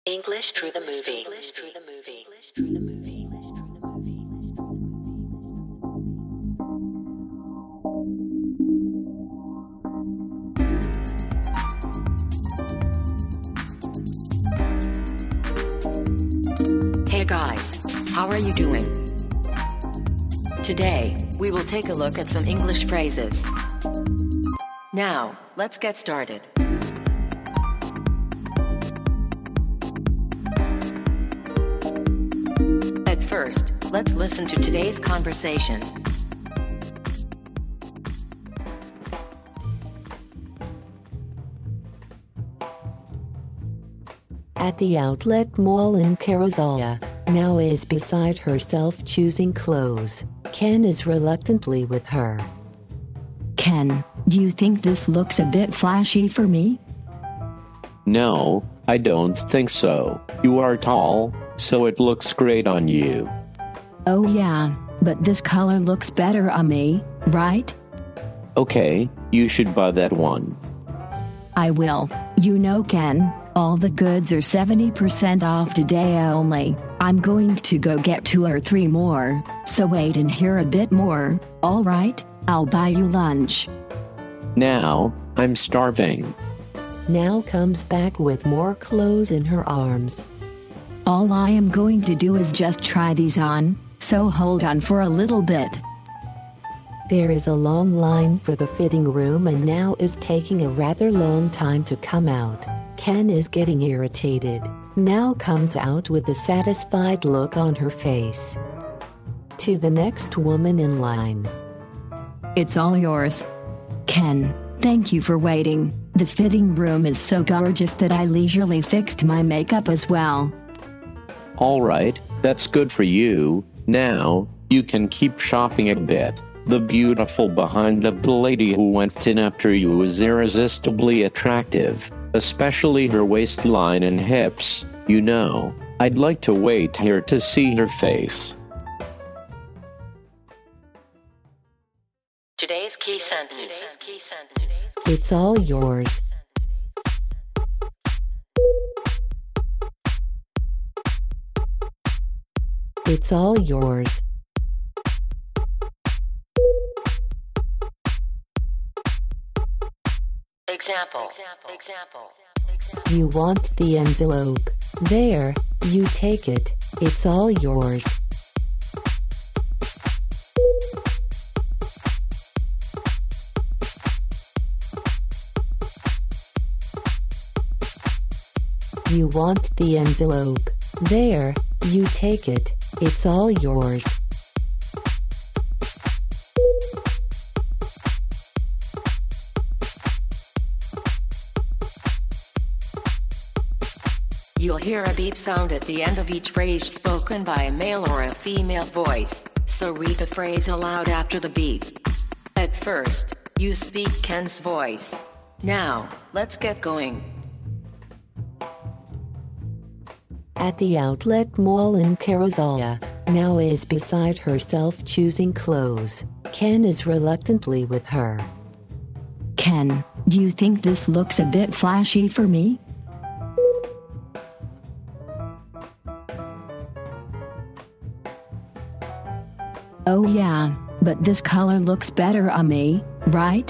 English through the movie. Hey guys, how are you doing? Today, we will take a look at some English phrases. Now, let's get started. At first, let's listen to today's conversation. At the outlet mall in Carozella, Now is beside herself choosing clothes. Ken is reluctantly with her. Ken, do you think this looks a bit flashy for me? No, I don't think so. You are tall, so it looks great on you. Oh yeah, but this color looks better on me, right? Okay, you should buy that one. I will. You know, Ken, all the goods are 70% off today only. I'm going to go get 2 or 3 more, so wait and hear a bit more, alright? I'll buy you lunch. Now, I'm starving. Now comes back with more clothes in her arms. All I am going to do is just try these on, so hold on for a little bit. There is a long line for the fitting room and Now is taking a rather long time to come out. Ken is getting irritated. Now comes out with a satisfied look on her face. To the next woman in line. It's all yours. Ken, thank you for waiting. The fitting room is so gorgeous that I leisurely fixed my makeup as well. All right, that's good for you. Now, you can keep shopping a bit. The beautiful behind of the lady who went in after you is irresistibly attractive, especially her waistline and hips. You know, I'd like to wait here to see her face. Today's key sentence. It's all yours. It's all yours. Example. You want the envelope. There, you take it. It's all yours. You want the envelope. There, you take it. It's all yours. You'll hear a beep sound at the end of each phrase spoken by a male or a female voice, so read the phrase aloud after the beep. At first, you speak Ken's voice. Now, let's get going. At the outlet mall in Carozella, Now is beside herself choosing clothes. Ken is reluctantly with her. Ken, do you think this looks a bit flashy for me? Oh yeah, but this color looks better on me, right?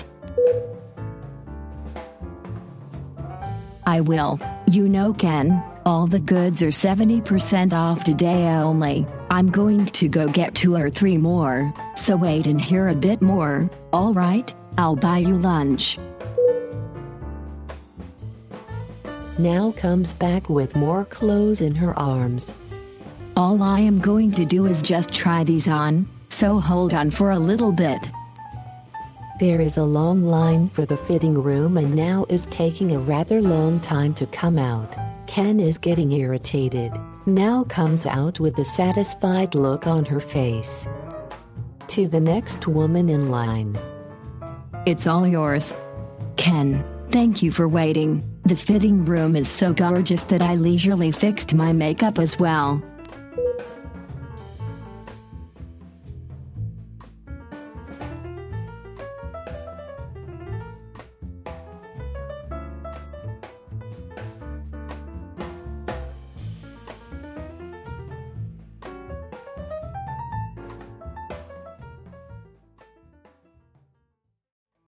I will. You know, Ken, all the goods are 70% off today only. I'm going to go get 2 or 3 more, so wait and hear a bit more, alright? I'll buy you lunch. Now comes back with more clothes in her arms. All I am going to do is just try these on, so hold on for a little bit. There is a long line for the fitting room and Now is taking a rather long time to come out. Ken is getting irritated. Now comes out with a satisfied look on her face. To the next woman in line. It's all yours. Ken, thank you for waiting. The fitting room is so gorgeous that I leisurely fixed my makeup as well.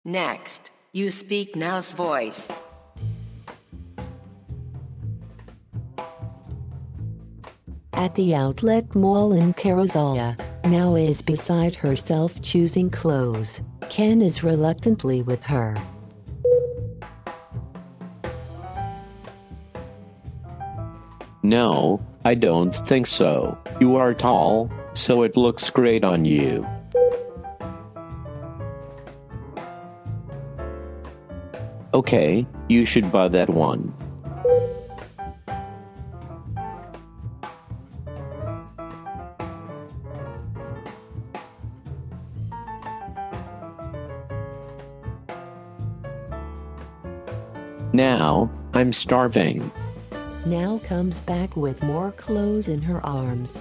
Next, you speak now's voice. At the outlet mall in Karuzoya, Now is beside herself choosing clothes. Ken is reluctantly with her. No, I don't think so. You are tall, so it looks great on you. Okay, you should buy that one. Now, I'm starving. Now comes back with more clothes in her arms.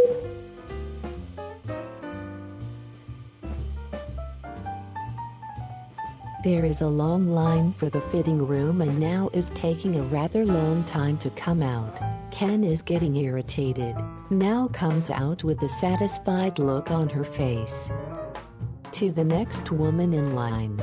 There is a long line for the fitting room and Now is taking a rather long time to come out. Ken is getting irritated. Now comes out with a satisfied look on her face. To the next woman in line.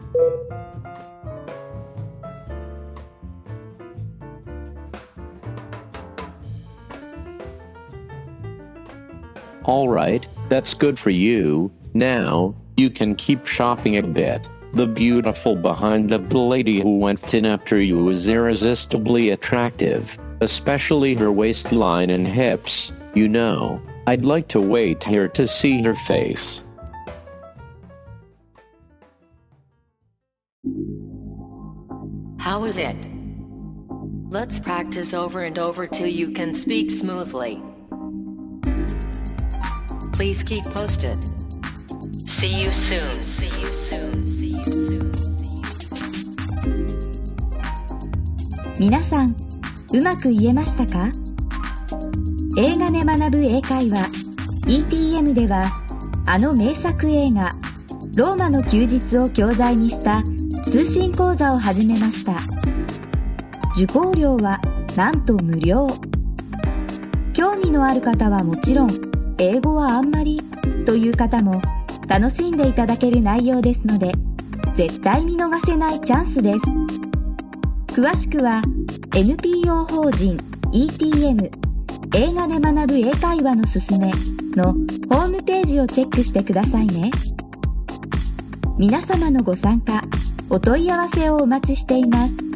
All right, that's good for you. Now, you can keep shopping a bit. The beautiful behind of the lady who went in after you is irresistibly attractive, especially her waistline and hips. You know, I'd like to wait here to see her face. How is it? Let's practice over and over till you can speak smoothly. Please keep posted. See you soon. See you soon. See you soon. 皆さん、うまく言えましたか？映画で学ぶ英会話 ETM では、あの名作映画ローマの休日を教材にした通信講座を始めました。受講料はなんと無料。興味のある方はもちろん、英語はあんまりという方も楽しんでいただける内容ですので、絶対見逃せないチャンスです。詳しくは NPO 法人 ETM 映画で学ぶ英会話のすすめのホームページをチェックしてくださいね。皆様のご参加、お問い合わせをお待ちしています。